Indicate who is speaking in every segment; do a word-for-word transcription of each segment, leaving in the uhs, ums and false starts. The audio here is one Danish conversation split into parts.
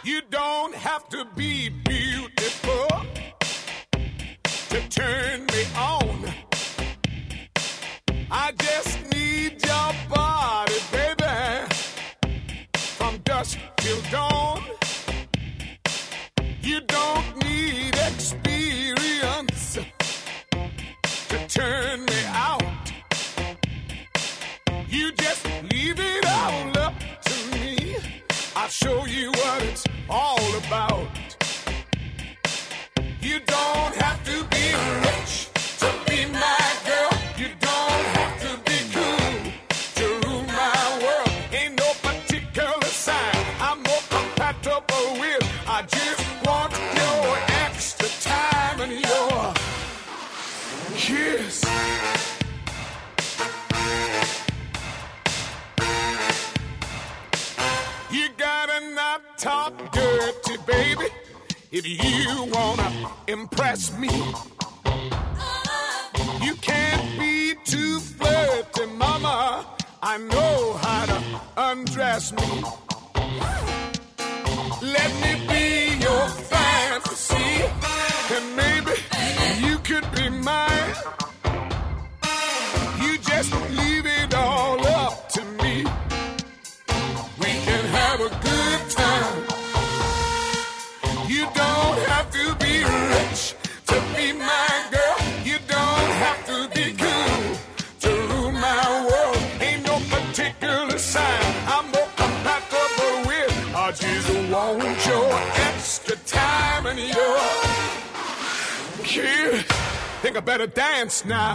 Speaker 1: You don't have to be beautiful to turn me on. I just need your body, baby, from dusk till dawn. You don't need experience to turn me out. You just leave it all up to me. I'll show you what it's all about. You don't have to be rich to be my girl. You don't have to be cool to rule my world. Ain't no particular sign I'm more compatible with. I just want your extra time and your kiss. You gotta not talk dirty, baby, if you wanna impress me. You can't be too flirty, mama. I know how to undress me. Let me be your fantasy, and maybe you could be mine. You just leave it all up to me. We can have a good time. You don't have to be rich to be my girl. You don't have to be cool to rule my world. Ain't no particular sign I'm more compatible with. I just want your extra time and your kiss. Think I better dance now.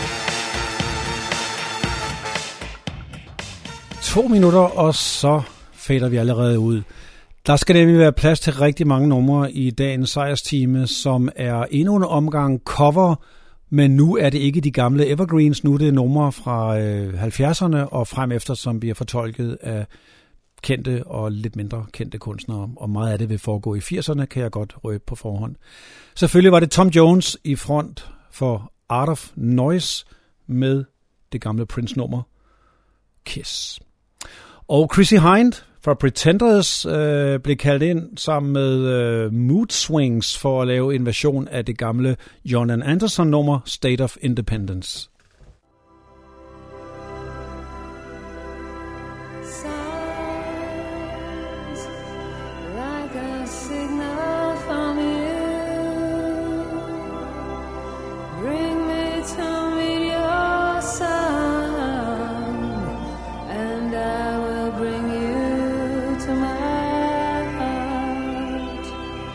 Speaker 2: To minutter, og så fader vi allerede ud. Der skal nemlig være plads til rigtig mange numre i dagens sejrstime, som er endnu en omgang cover, men nu er det ikke de gamle evergreens, nu er det numre fra øh, halvfjerdserne og frem efter, som bliver fortolket af kendte og lidt mindre kendte kunstnere, og meget af det vil foregå i firserne, kan jeg godt røbe på forhånd. Selvfølgelig var det Tom Jones i front for Art of Noise med det gamle Prince-nummer Kiss. Og Chrissie Hynde fra Pretenders øh, blev kaldt ind sammen med øh, Mood Swings for at lave en version af det gamle John and Anderson-nummer State of Independence.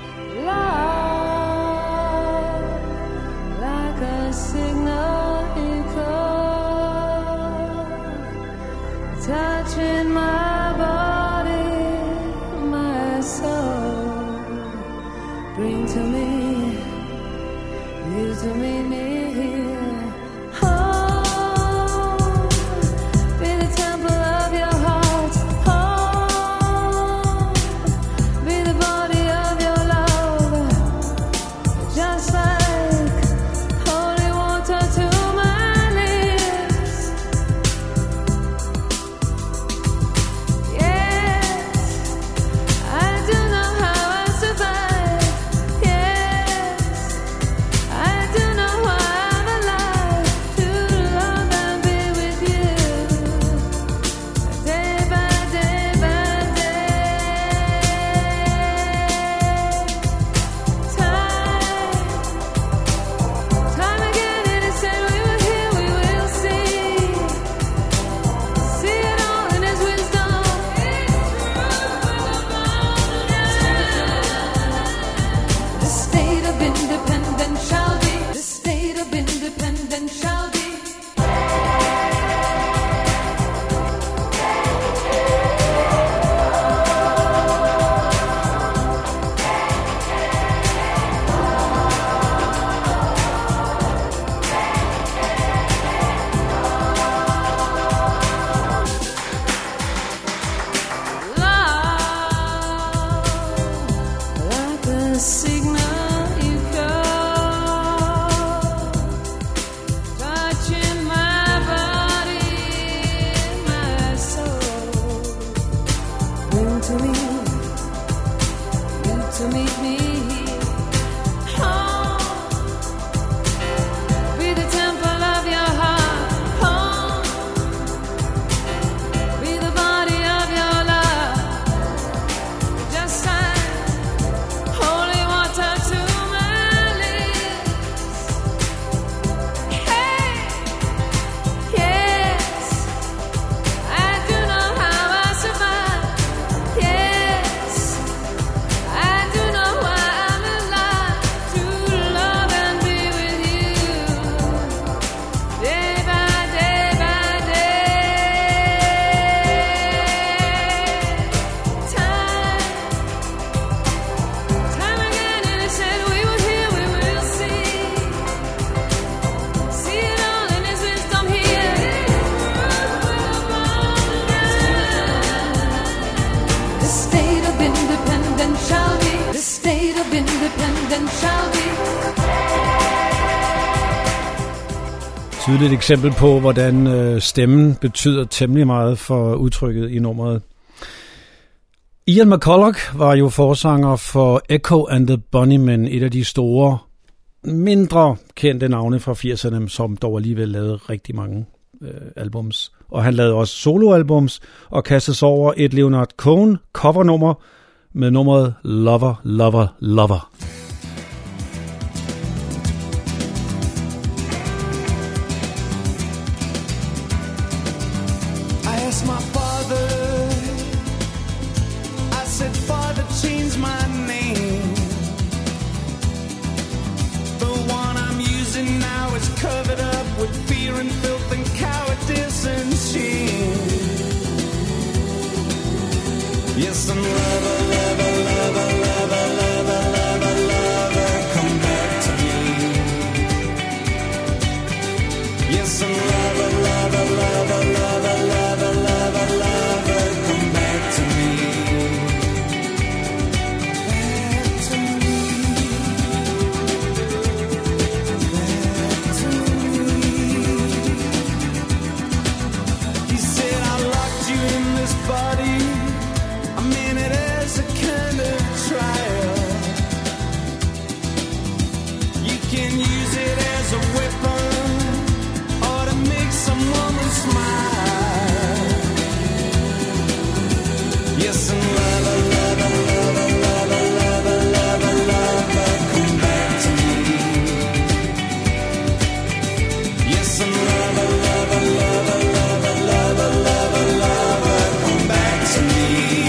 Speaker 3: Signal to meet me. Home, be the temple of your heart. Home, be the body of your love. Just sign holy water to my lips. Hey, yes, I do know how I survive. Yes, I do know why I'm alive. To love and be with you, day by day by day. Time, time again, and it said we will hear, we will see. See it all in His wisdom here. The state of independence shall be. The state of independence shall be.
Speaker 2: Tydeligt eksempel på, hvordan øh, stemmen betyder temmelig meget for udtrykket i nummeret. Ian McCulloch var jo forsanger for Echo and the Bunnymen, et af de store, mindre kendte navne fra firserne, som dog alligevel lavede rigtig mange øh, albums. Og han lavede også soloalbums og kastede sig over et Leonard Cohen covernummer med nummeret Lover, Lover, Lover.
Speaker 1: I asked my father, I said, Father, change my name. The one I'm using now is covered up with fear and filth and cowardice and shame. Yes, I'm lover, lover, lover, lover, lover, lover, lover, come back to me. Yes, I'm lover, lover, lover, lover, lover, lover, lover, come back to me. Back to me. Back to me. He said, I locked you in this body. I mean it as a kind of trial. You can use it as a weapon or to make some woman smile. Yes, and lover, lover, lover, lover, lover, lover, lover, come back to me. Yes, and lover, lover, lover, lover, lover, lover, lover, come back to me.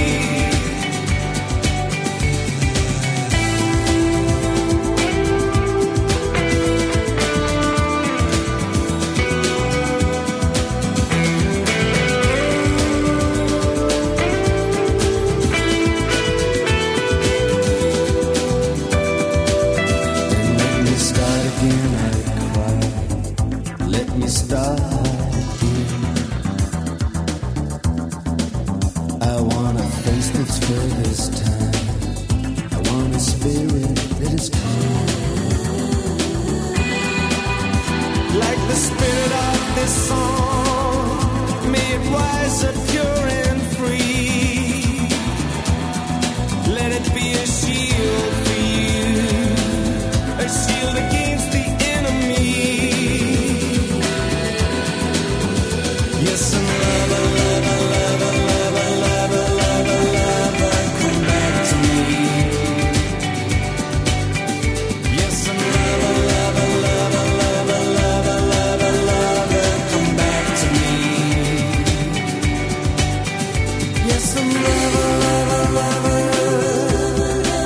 Speaker 1: Let me start again, I cry. Let me start again. I want a face that's fair this time. I want a spirit that is calm. Like the spirit of this song, made wiser, pure and free. Let it be a shield for you, a shield against the enemy. Yes, and lover, lover, lover, lover, lover, lover, lover, come back to me. Yes, and lover, lover, lover, lover, lover, lover, lover, come back to me. Yes, and lover, lover, lover,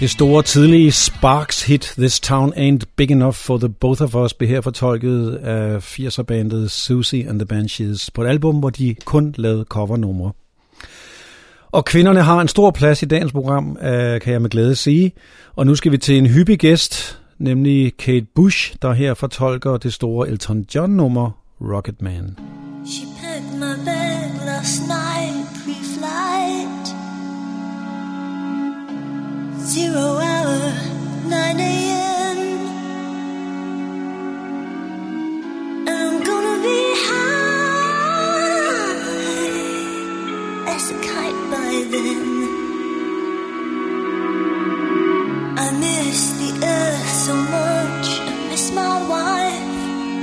Speaker 2: Det store tidlige Sparks hit This Town Ain't Big Enough for the Both of Us blev her fortolket af firser-bandet Susie and the Banshees på et album, hvor de kun lavede covernumre. Og kvinderne har en stor plads i dagens program, kan jeg med glæde sige. Og nu skal vi til en hyppig gæst, nemlig Kate Bush, der her fortolker det store Elton John-nummer Rocket Man.
Speaker 4: She packed my bag last night, pre-flight. Zero hour, nine a.m. And I'm gonna be high as a kite by then. I miss the earth so much, I miss my wife.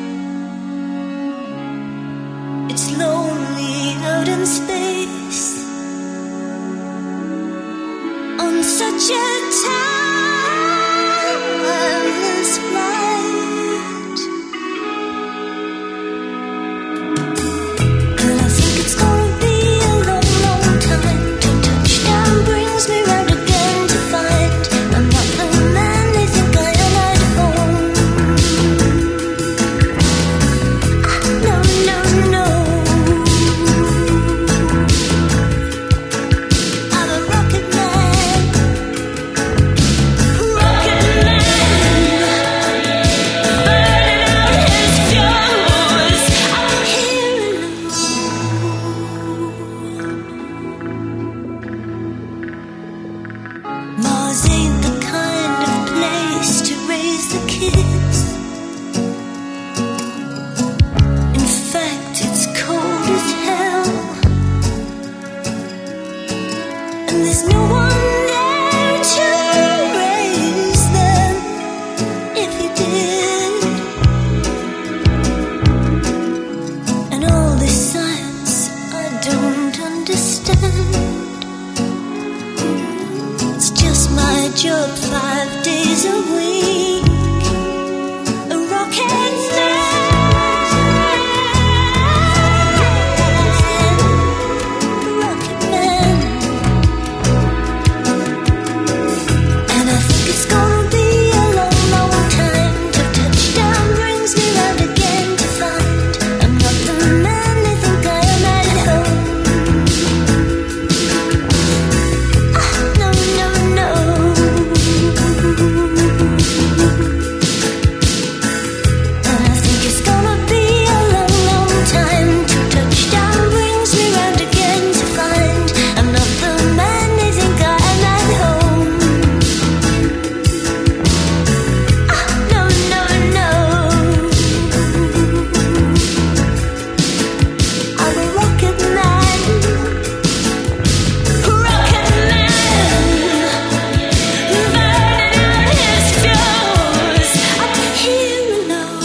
Speaker 4: It's lonely out in space on such a timeless flight. And I think it's gonna be a long, long time till touchdown brings me round again to find I'm not the man they think I am at home. Ah, no, no, no. I'm a rocket man, rocket man, burning out his fuse. I'm here alone. Mars ain't the kind of place to raise the kids. In fact, it's cold as hell, and there's no one there to raise them if you did. And all this science I don't understand. It's just my job five days a week. A rocket man, rocket man. And I think it's gonna be a long, long time till touchdown brings me round again to find I'm not the man they think I am at home. Ah, no, no, no. And I think it's gonna be a long, long time till touchdown brings me round again to find I'm not the man they think I am at home. Ah, no, no, no. I'm a rocket man, rocket man, burning out his fuse. I'm here alone.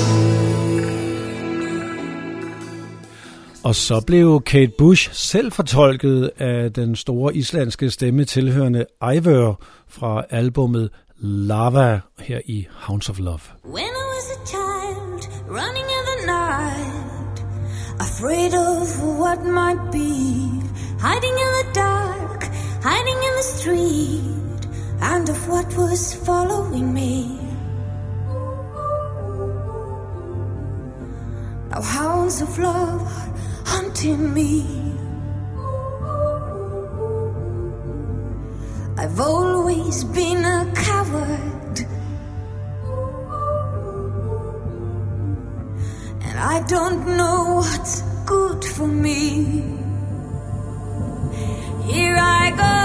Speaker 2: Og så blev Kate Bush selv fortolket af den store islandske stemme tilhørende Eivør fra albummet Lava her i Hounds of Love.
Speaker 4: When I was a child, running in the night, afraid of what might be, hiding in the dark, hiding in the street, and of what was following me. Now hounds of love are hunting me. I've always been a coward, and I don't know what's good for me. Here I go,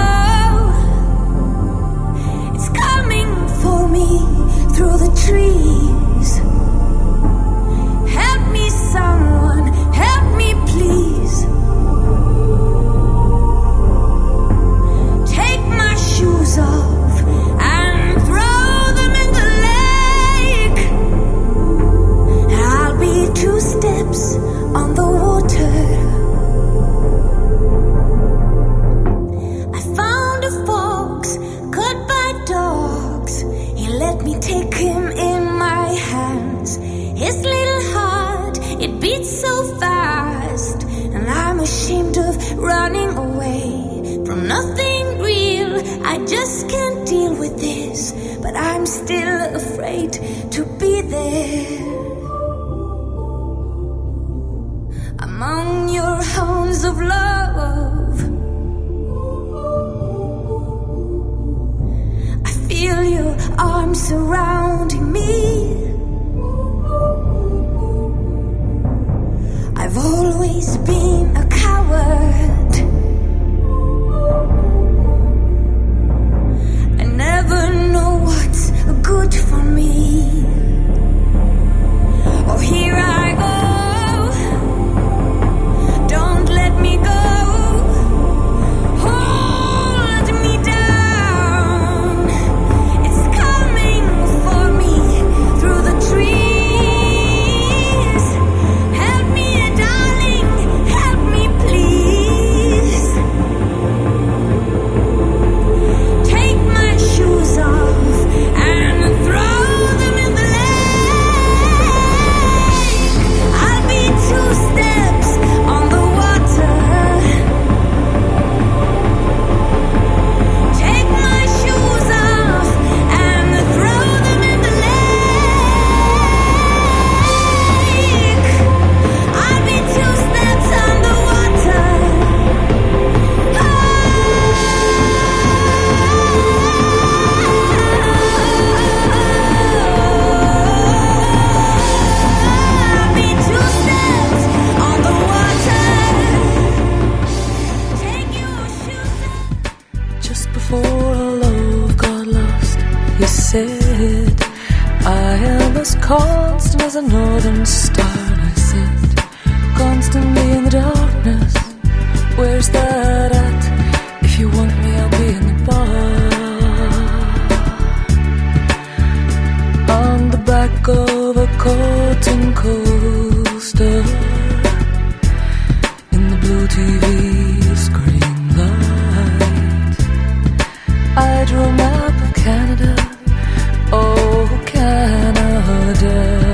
Speaker 4: it's coming for me through the trees. Help me, someone, help me, please. Take my shoes off and throw them in the lake. I'll be two steps on the water. I found a fox caught by dogs. He let me take him in my hands. His little heart, it beats so fast, and I'm ashamed of running away from nothing real. I just can't deal with this, but I'm still afraid to be there. Among your hounds of love, I feel your arms surrounding me. I've always been a coward. I never know what's good for me. Oh, here I go. Don't let me go. Hold me down. It's coming for me through the trees. Help me, darling. Help me, please. Take my shoes off and throw them in the lake. I'll be two steps on the water. Take my shoes off and throw them in the lake. I'll be two steps on the water. I'll be two steps on the water. Take your shoes off.
Speaker 5: Just before our love got lost, you said, I am as constant as a northern star. And I said, constantly in the darkness, where's that at? If you want me, I'll be in the bar. On the back of a cotton coaster, in the blue T V screen light, I drew a map of Canada. Oh, Canada,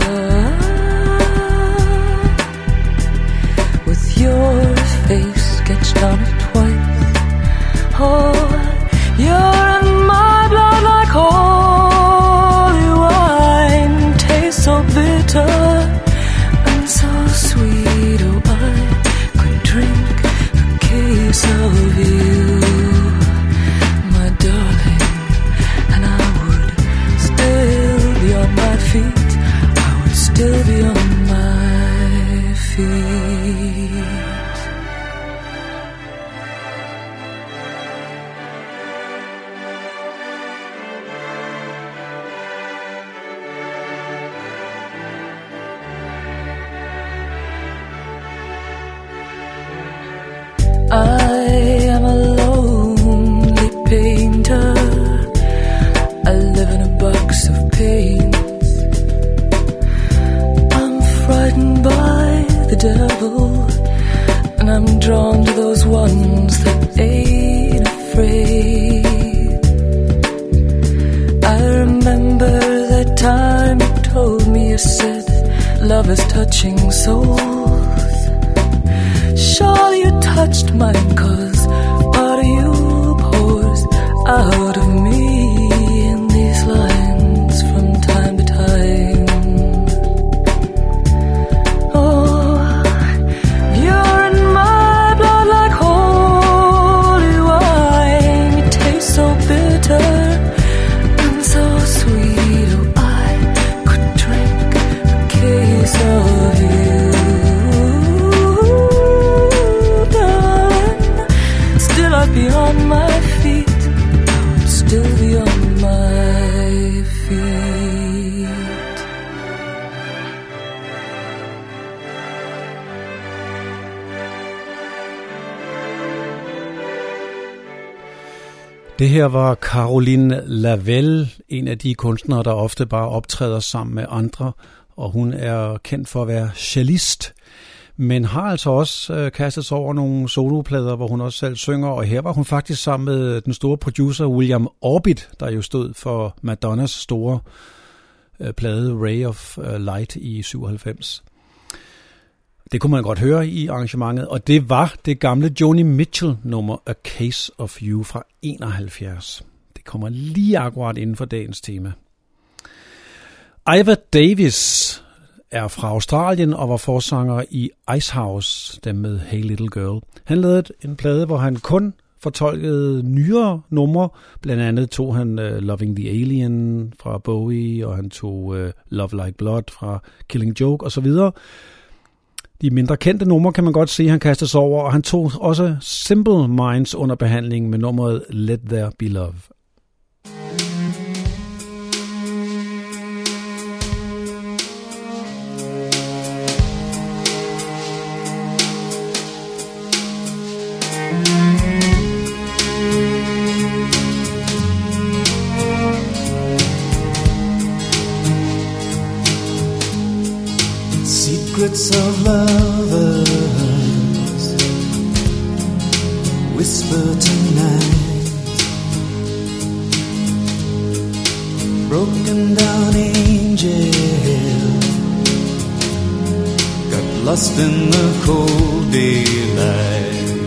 Speaker 5: with your face sketched on it twice. Oh, you're in my blood like holy wine. Tastes so bitter and so sweet. Oh, I could drink a case of you, my darling, and I would still be on my feet. I would still be on my feet. I am a lonely painter. I live in a box of paints. I'm frightened by the devil, and I'm drawn to those ones that ain't afraid. I remember that time you told me, you said, love is touching souls. Sure you touched mine, 'cause part of you pours out of me in these lines from time to time. Oh, you're in my blood like holy wine. You taste so bitter and so sweet. Oh, I could drink a case of you, darling. Still I'd be on my feet. I would still be on my feet.
Speaker 2: Det her var Caroline Lavelle, en af de kunstnere, der ofte bare optræder sammen med andre, og hun er kendt for at være cellist, men har altså også øh, kastet sig over nogle soloplader, hvor hun også selv synger, og her var hun faktisk sammen med den store producer William Orbit, der jo stod for Madonnas store øh, plade Ray of Light i syvoghalvfems. Det kunne man godt høre i arrangementet, og det var det gamle Joni Mitchell nummer A Case of You fra enoghalvfjerds. Det kommer lige akkurat inden for dagens tema. Iva Davis er fra Australien og var forsanger i Icehouse, dem med Hey Little Girl. Han lavede en plade, hvor han kun fortolkede nyere numre. Blandt andet tog han uh, Loving the Alien fra Bowie, og han tog uh, Love Like Blood fra Killing Joke osv. De mindre kendte numre kan man godt se, han kastede sig over, og han tog også Simple Minds under behandling med nummeret Let There Be Love.
Speaker 6: Secrets of lovers whisper tonight. Broken down angel got lost in the cold daylight.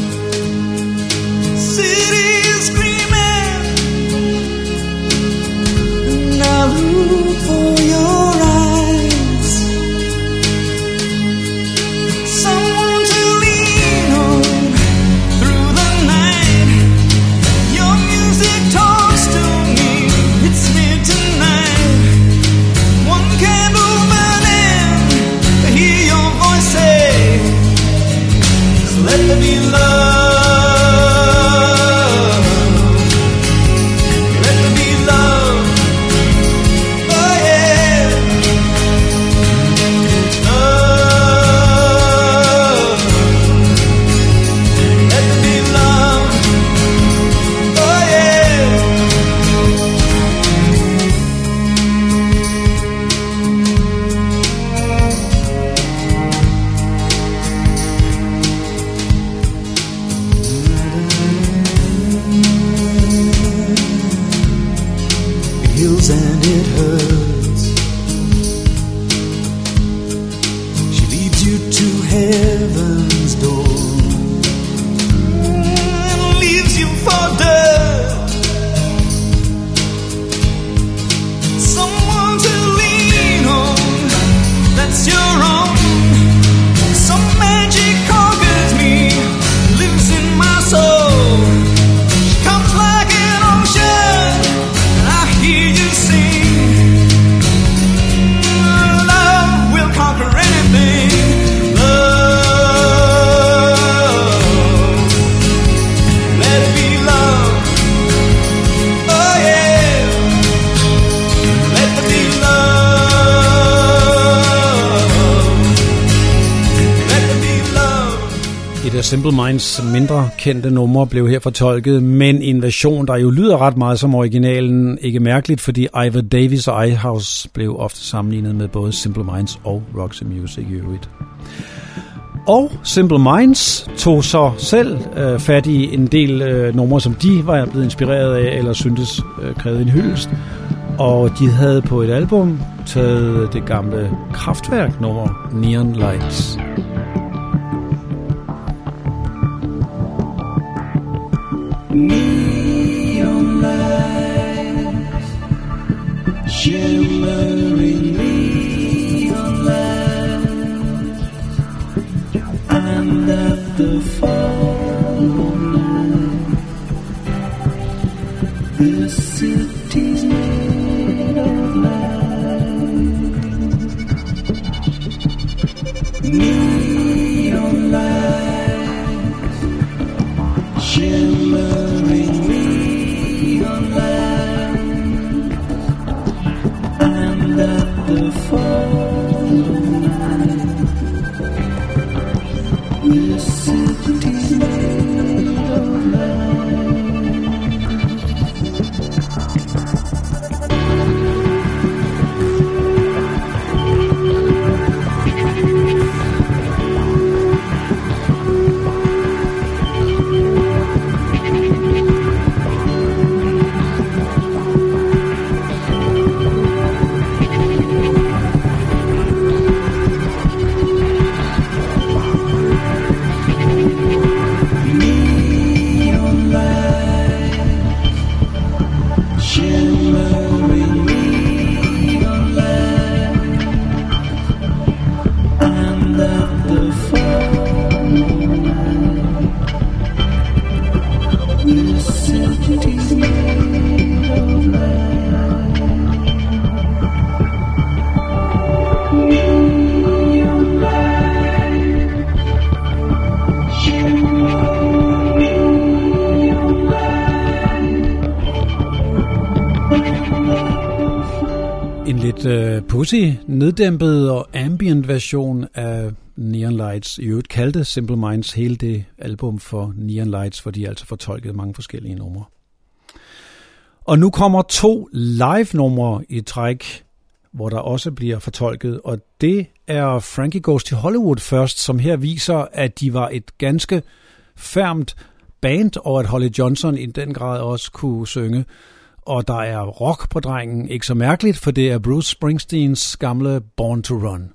Speaker 6: City screaming, and I look for your eyes. Let there be love. Let there be love. Oh yeah. Love. Let there be love. Oh yeah. And it hurts. She leads you to heaven's door and leaves you for dirt. Someone to lean on, that's your own. Some magic conquers me, lives in my soul. She comes like an ocean, and I hear you sing. Love will conquer anything. Love, let it be love. Oh yeah, let it be love. Let it be love.
Speaker 2: Et af Simple Minds mindre kendte numre blev her fortolket, men en version, der jo lyder ret meget som originalen. Ikke mærkeligt, fordi Iva Davis og Icehouse blev ofte sammenlignet med både Simple Minds og Roxy Music i øvrigt. Og Simple Minds tog så selv øh, fat i en del øh, numre, som de var blevet inspireret af, eller syntes øh, krævede en hyldest. Og de havde på et album taget det gamle Kraftwerk-nummer Neon Lights.
Speaker 6: Neon lights, shimmering neon lights, and at the fall of night, the city's made of light. Neon lights, shimmering neon lights, and at the fall of night, the city's made of light.
Speaker 2: lidt uh, pussy, neddæmpet og ambient version af Neon Lights. I øvrigt kaldte Simple Minds hele det album for Neon Lights, for de altså fortolkede mange forskellige numre. Og nu kommer to live-numre i træk, hvor der også bliver fortolket, og det er Frankie Goes to Hollywood først, som her viser, at de var et ganske fermt band, og at Holly Johnson i den grad også kunne synge. Og der er rock på drengen, ikke så mærkeligt, for det er Bruce Springsteens gamle Born to Run.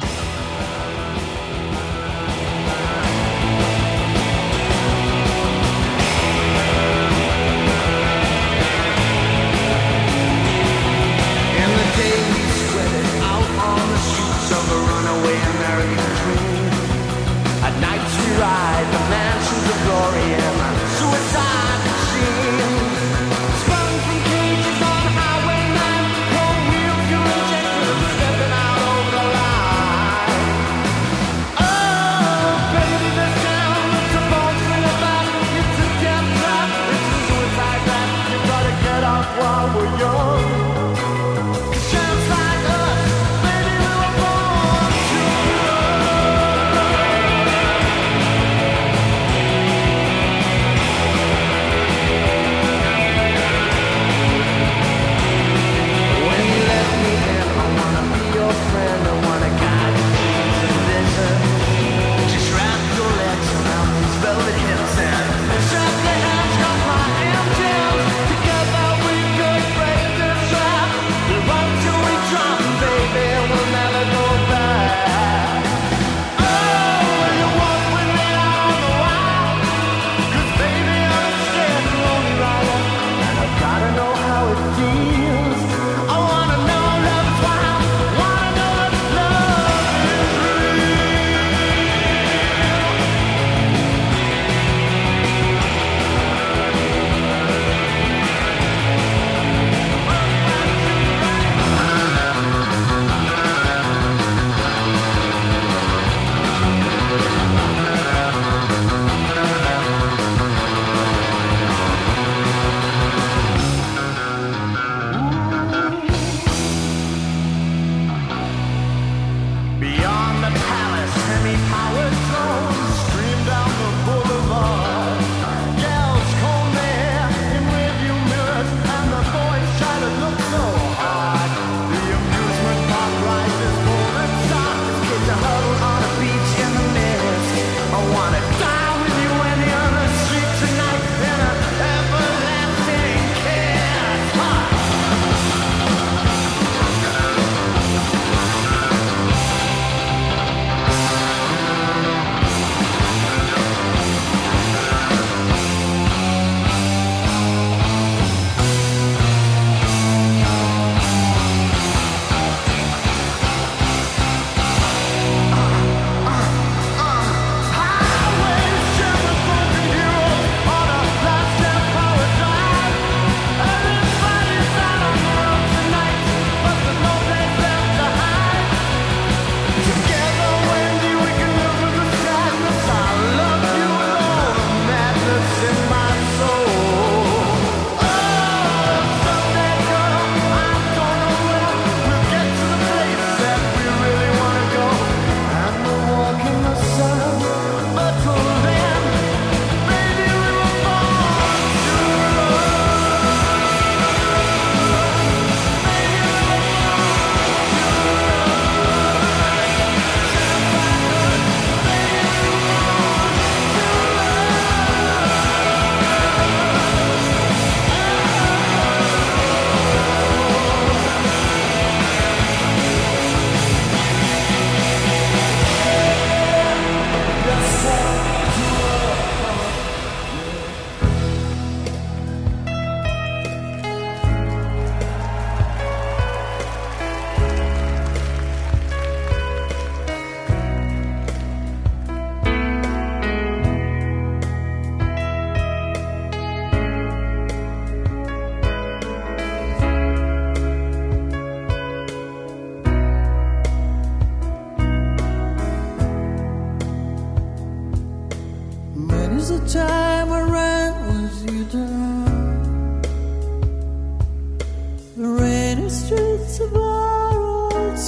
Speaker 7: time I ran with you down the rainy streets of our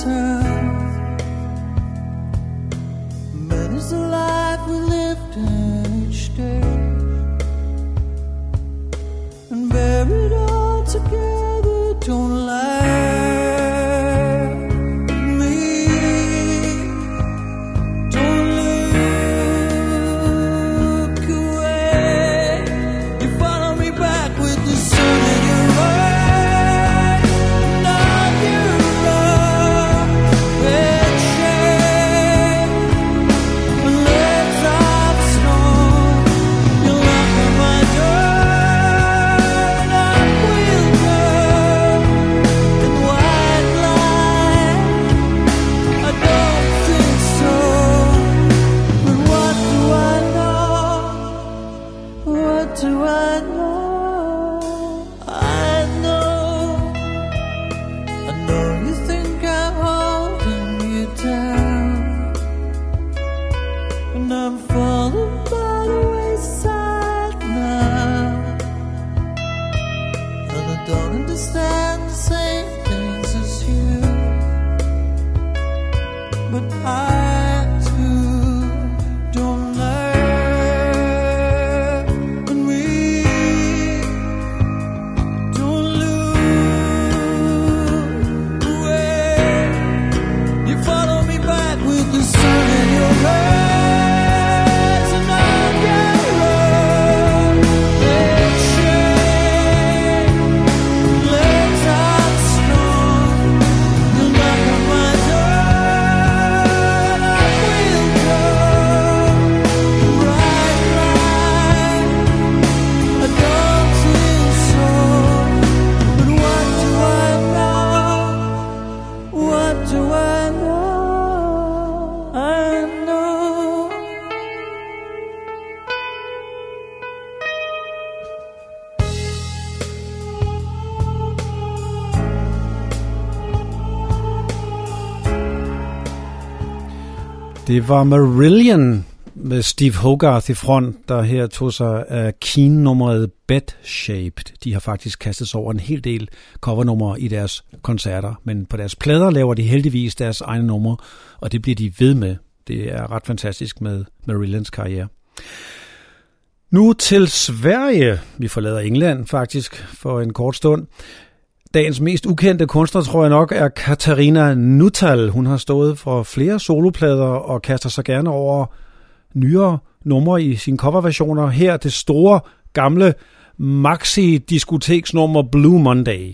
Speaker 7: town. Many's the life we lived in each day, and buried all together don't lie. Me, don't look away. You follow me back with the sun in your eyes. Now you're up and shame. When legs off strong, you knock on my door, and I will go in white light. I don't think so, but what do I know? What do I know? I know, I know you think I'm holding you down, and I'm falling by the wayside now, and I don't understand the same things as you, but I too don't learn, and we don't look away. You follow me back with the sun in your eyes, and I'll get lost in shame. Legs out strong, you'll knock on my door, and I will go bright light. I don't think so, but what do I know? What do I know? I know.
Speaker 2: Det var Marillion med Steve Hogarth i front, der her tog sig af Keane-nummeret Bed Shaped. De har faktisk kastet sig over en hel del covernumre i deres koncerter, men på deres plader laver de heldigvis deres egne numre, og det bliver de ved med. Det er ret fantastisk med Marillions karriere. Nu til Sverige. Vi forlader England faktisk for en kort stund. Dagens mest ukendte kunstner, tror jeg nok, er Katarina Nuttall. Hun har stået for flere soloplader og kaster sig gerne over nyere numre i sine coverversioner. Her det store, gamle maxi-diskoteksnummer Blue Monday.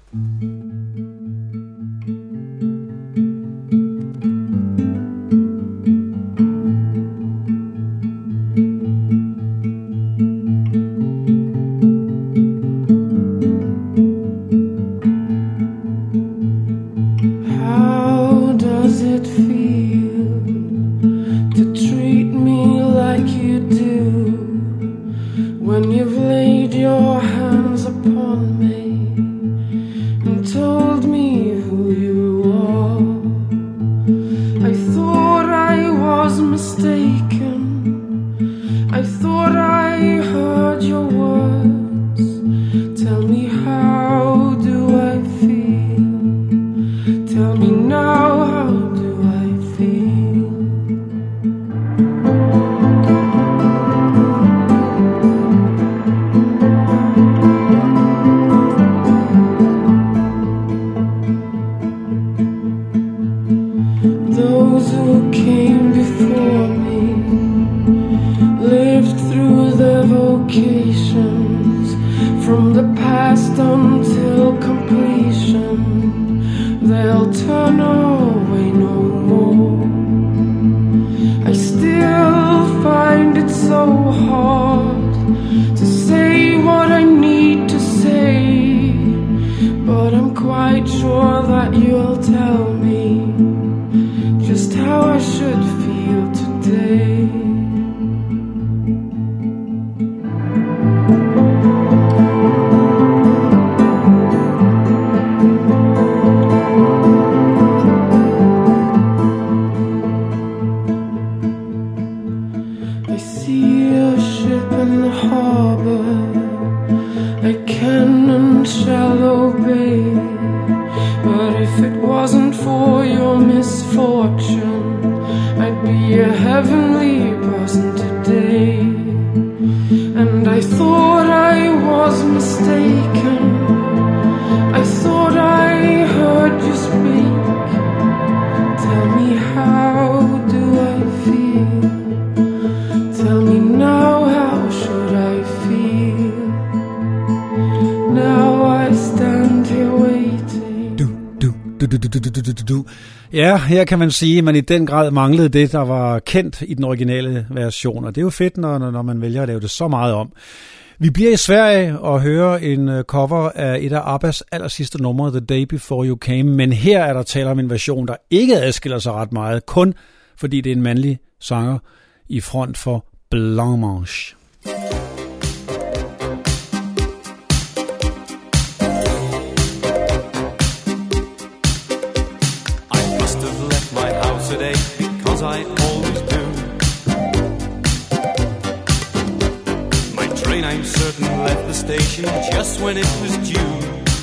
Speaker 8: How does it feel to treat me like you do when you've laid your hands upon me and told me who you are? I thought I was mistaken. I thought I heard your words. Tell me, how do I feel? Tell me now, how do I feel? Those who came before me lived through their vocations from the past until completion. They'll turn away no more. I still find it so hard to say what I need to say, but I'm quite sure that you'll tell me just how I should feel today. I see a ship in the harbor, I can and shall obey, but if it wasn't for your misfortune, I'd be a heavenly person today. And I thought I was mistaken, I thought I heard you speak. Tell me, how do I feel? Tell me now, how should I feel? Now I stand here waiting.
Speaker 2: Du, du, du, du, du, du, du, du, du. Ja, her kan man sige, at man i den grad manglede det, der var kendt i den originale version. Og det er jo fedt, når, når man vælger at lave det så meget om. Vi bliver i Sverige og hører en cover af et af Abbas allersidste numre, The Day Before You Came. Men her er der tale om en version, der ikke adskiller sig ret meget, kun fordi det er en mandlig sanger i front for Blancmange.
Speaker 6: Today, because I always do. My train, I'm certain, left the station just when it was due.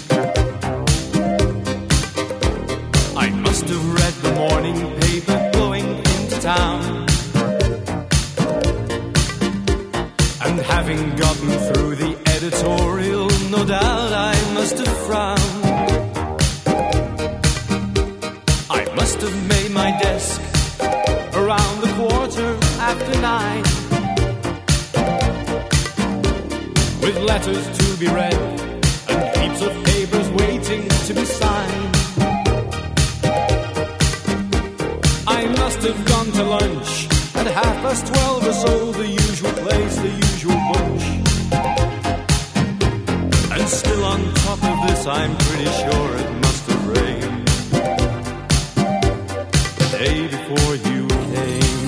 Speaker 6: I must have read the morning paper going into town, and having gotten through the editorial, no doubt I must have frowned. I must have made my desk around the quarter after nine, with letters to be read and heaps of papers waiting to be signed. I must have gone to lunch at half past twelve or so, the usual place, the usual bunch. And still on top of this, I'm pretty sure it must have rained day before you came.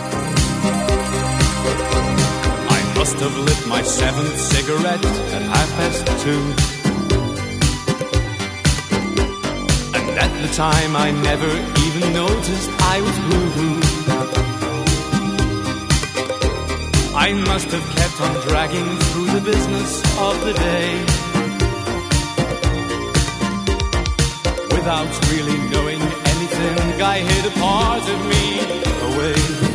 Speaker 6: I must have lit my seventh cigarette at half past two, and at the time I never even noticed I was blue. I must have kept on dragging through the business of the day without really knowing anything. I hid a part of me away.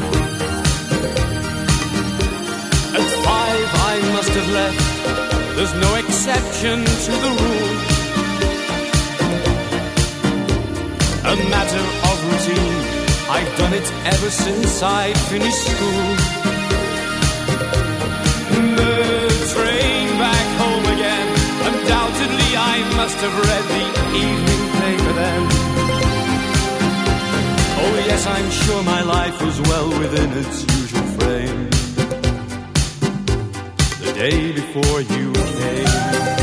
Speaker 6: At five I must have left, there's no exception to the rule. A matter of routine, I've done it ever since I finished school. The train back home again, undoubtedly I must have read the evening paper then. Oh yes, I'm sure my life was well within its usual frame the day before you came.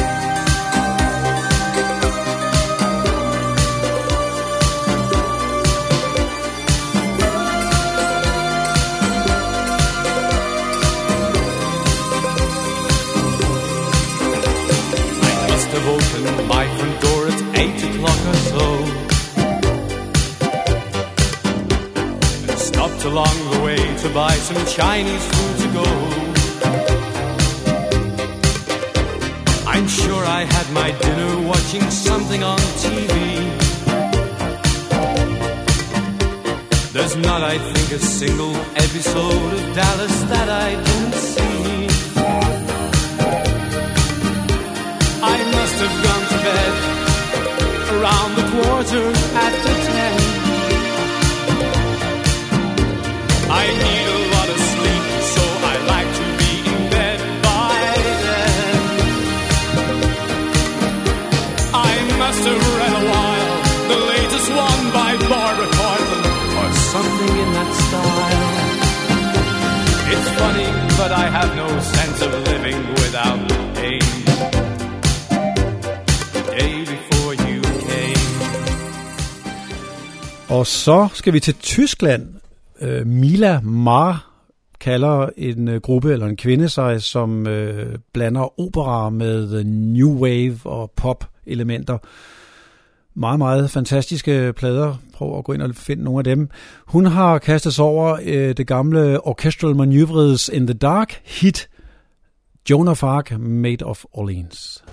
Speaker 6: I must have opened my front door at eight o'clock or so, stopped along the way to buy some Chinese food to go. I'm sure I had my dinner watching something on T V. There's not, I think, a single episode of Dallas that I didn't see. I must have gone to bed around the quarter after ten. I need a lot of sleep, so I like to be in bed by then. I must have read a while, the latest one by Barbara Cartland, or something in that style. It's funny, but I have no sense of living without pain. The day before you came.
Speaker 2: Og så skal vi til Tyskland. Mila Mar kalder en uh, gruppe eller en kvinde sig, som uh, blander opera med new wave og pop elementer. Meget, meget fantastiske plader. Prøv at gå ind og finde nogle af dem. Hun har kastet sig over uh, det gamle Orchestral Maneuvers in the Dark hit Joan of Arc, Maid of Orleans.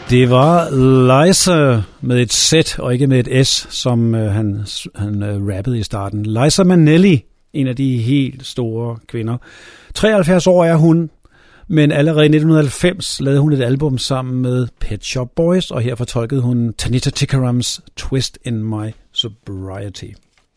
Speaker 2: Det var Liza med et Z og ikke med et S, som øh, han, han øh, rappede i starten. Liza Minnelli, en af de helt store kvinder. treoghalvfjerds år er hun, men allerede i nitten halvfems lavede hun et album sammen med Pet Shop Boys, og her fortolkede hun Tanita Tikarams Twist in My Sobriety.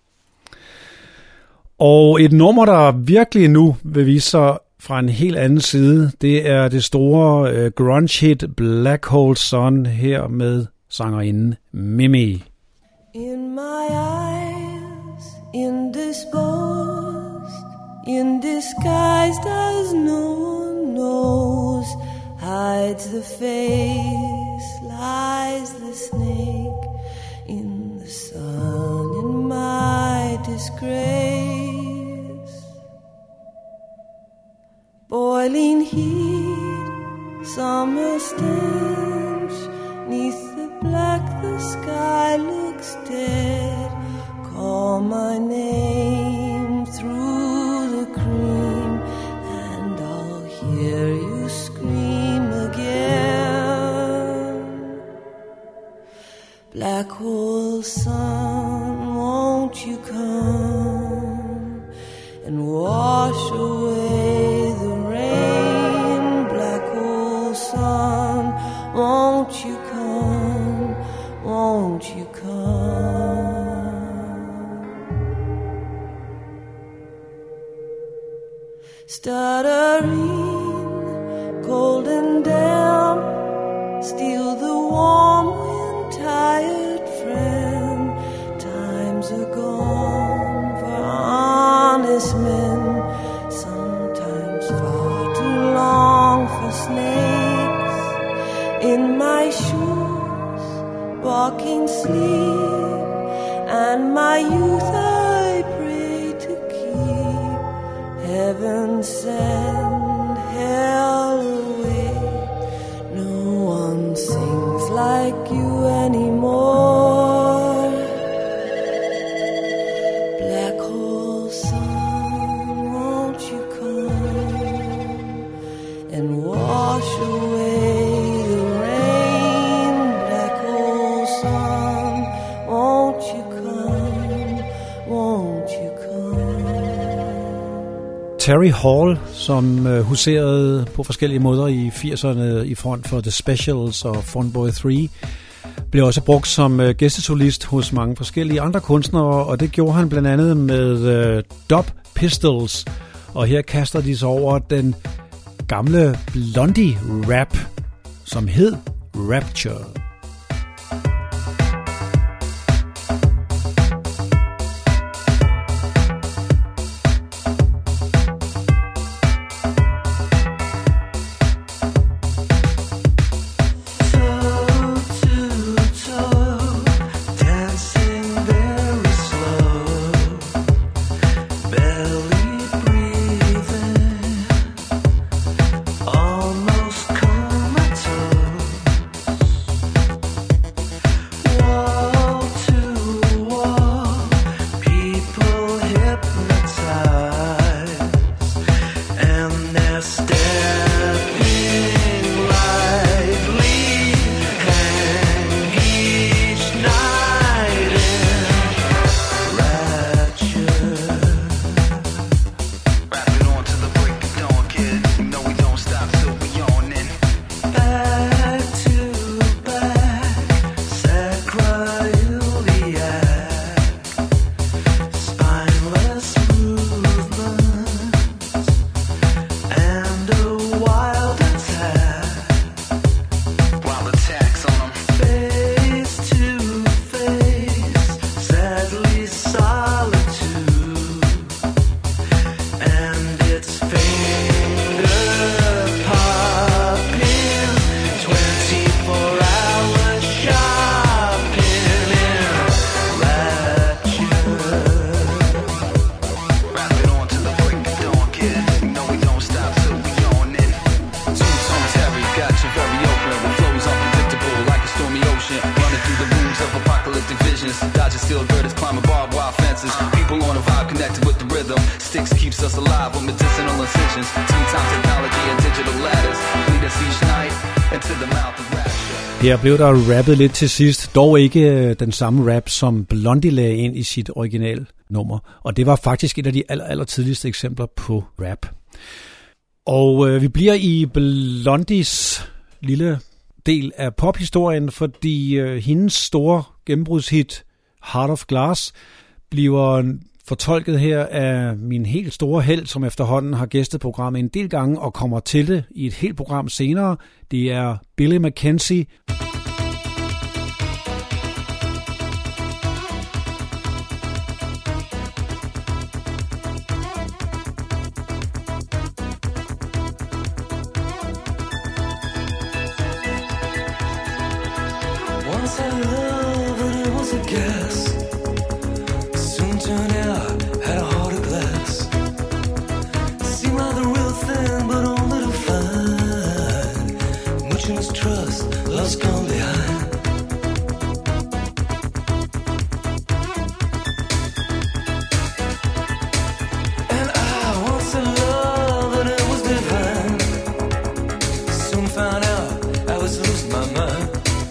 Speaker 2: Og et nummer, der virkelig nu vil vise sig fra en helt anden side, det er det store uh, grunge-hit Black Hole Sun her med sangerinden Mimi.
Speaker 7: In my eyes, indisposed, indisguised as no one knows, hides the face, lies the snake, in the sun, in my disgrace. Boiling heat, summer stench, neath the black the sky looks dead. Call my name through the cream, and I'll hear you scream again. Black hole sun, won't you come and wash away the rain? Black hole sun, won't you come, won't you come? Stuttering, cold and damp, steal the warm wind, tired friend. Times are gone for honest men, sometimes far too long for snakes. In my shoes, walking sleep, and my youth I pray to keep. Heaven send hell away, no one sings like you anymore. Black hole sun, won't you come and wash away the rain? Black hole sun, won't you come, won't you come?
Speaker 2: Terry Hall, som uh, huserede på forskellige måder i firserne i front for The Specials og Funboy tre, blev også brugt som uh, gæstesolist hos mange forskellige andre kunstnere, og det gjorde han blandt andet med uh, Dub Pistols, og her kaster de sig over den gamle Blondie-rap, som hed Rapture.
Speaker 6: Almost comatose.
Speaker 9: Sticks keeps us alive with medicinal incisions. Two-time technology and digital ladders lead us each night into the mouth of rapture.
Speaker 2: Her blev der rappet lidt til sidst, dog ikke den samme rap, som Blondie lagde ind i sit original nummer. Og det var faktisk et af de aller, aller tidligste eksempler på rap. Og øh, vi bliver i Blondies lille del af pophistorien, fordi øh, hendes store gennembrudshit Heart of Glass bliver fortolket her af min helt store held, som efterhånden har gæstet programmet en del gange og kommer til det i et helt program senere. Det er Billy Mackenzie.
Speaker 6: Once I loved and it was a guess. Soon turned out had a heart of glass. Seemed like the real thing, but only to find much you must trust, love's gone behind. And I once in love and it was divine. Soon found out I was losing my mind.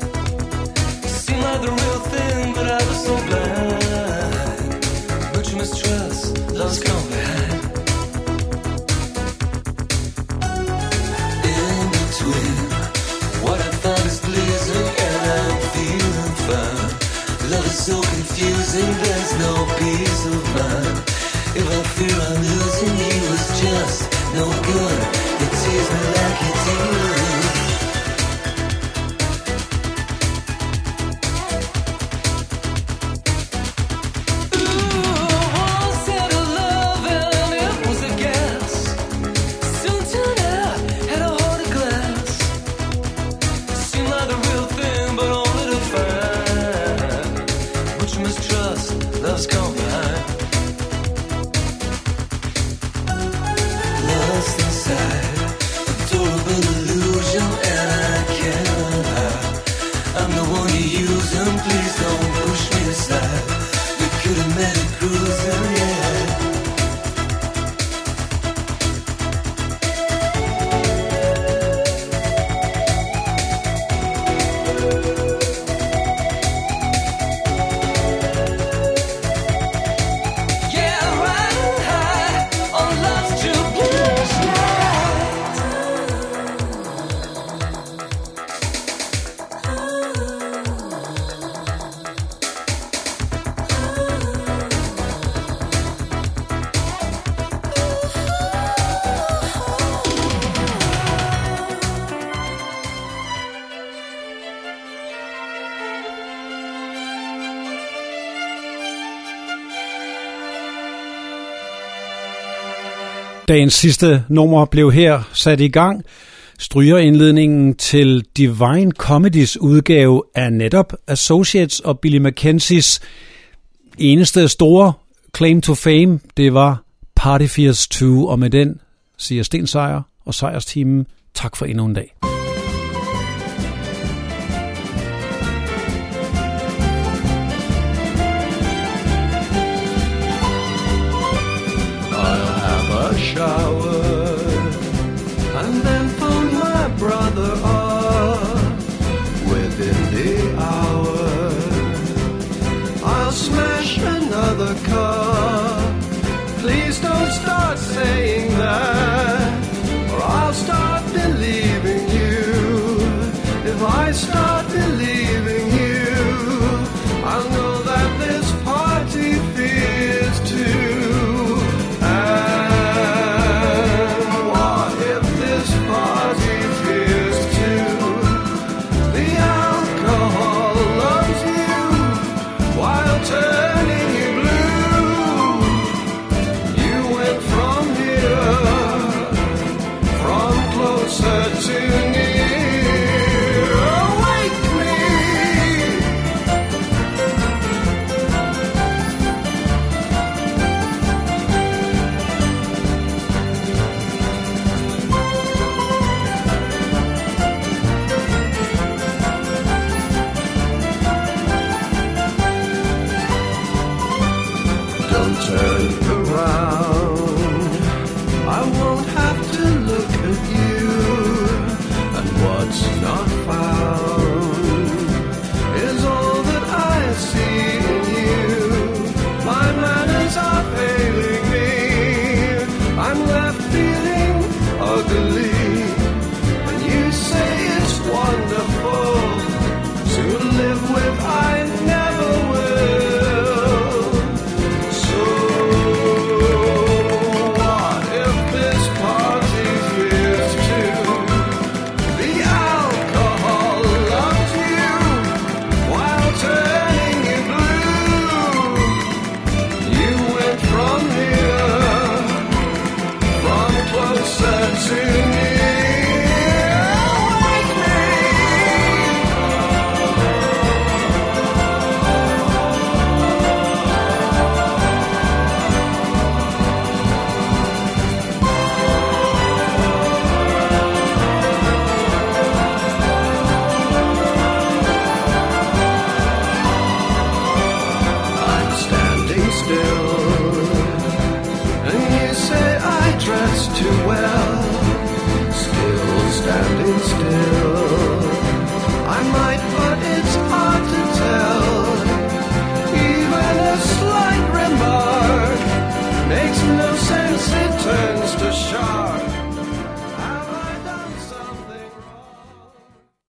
Speaker 6: The real thing, but I was so blind. But you must trust, love's gone behind. In between, what I find is pleasing and I'm feeling fine. Love is so confusing, there's no peace of mind. If I fear I'm losing you, it's just no good. You tease me like you do.
Speaker 2: Dagens sidste nummer blev her sat i gang. Strygerindledningen til Divine Comedies udgave af netop Associates og Billy Mackenzies eneste store claim to fame, det var Party Fears to, og med den siger Sten Sejer og Sejersteamen tak for endnu en dag.
Speaker 10: Shower and then phone my brother up within the hour. I'll smash another cup. Please don't start saying that, or I'll start believing you. If I start believing you, I'll know that this party fears too.
Speaker 6: not found.
Speaker 10: too well. Still standing still.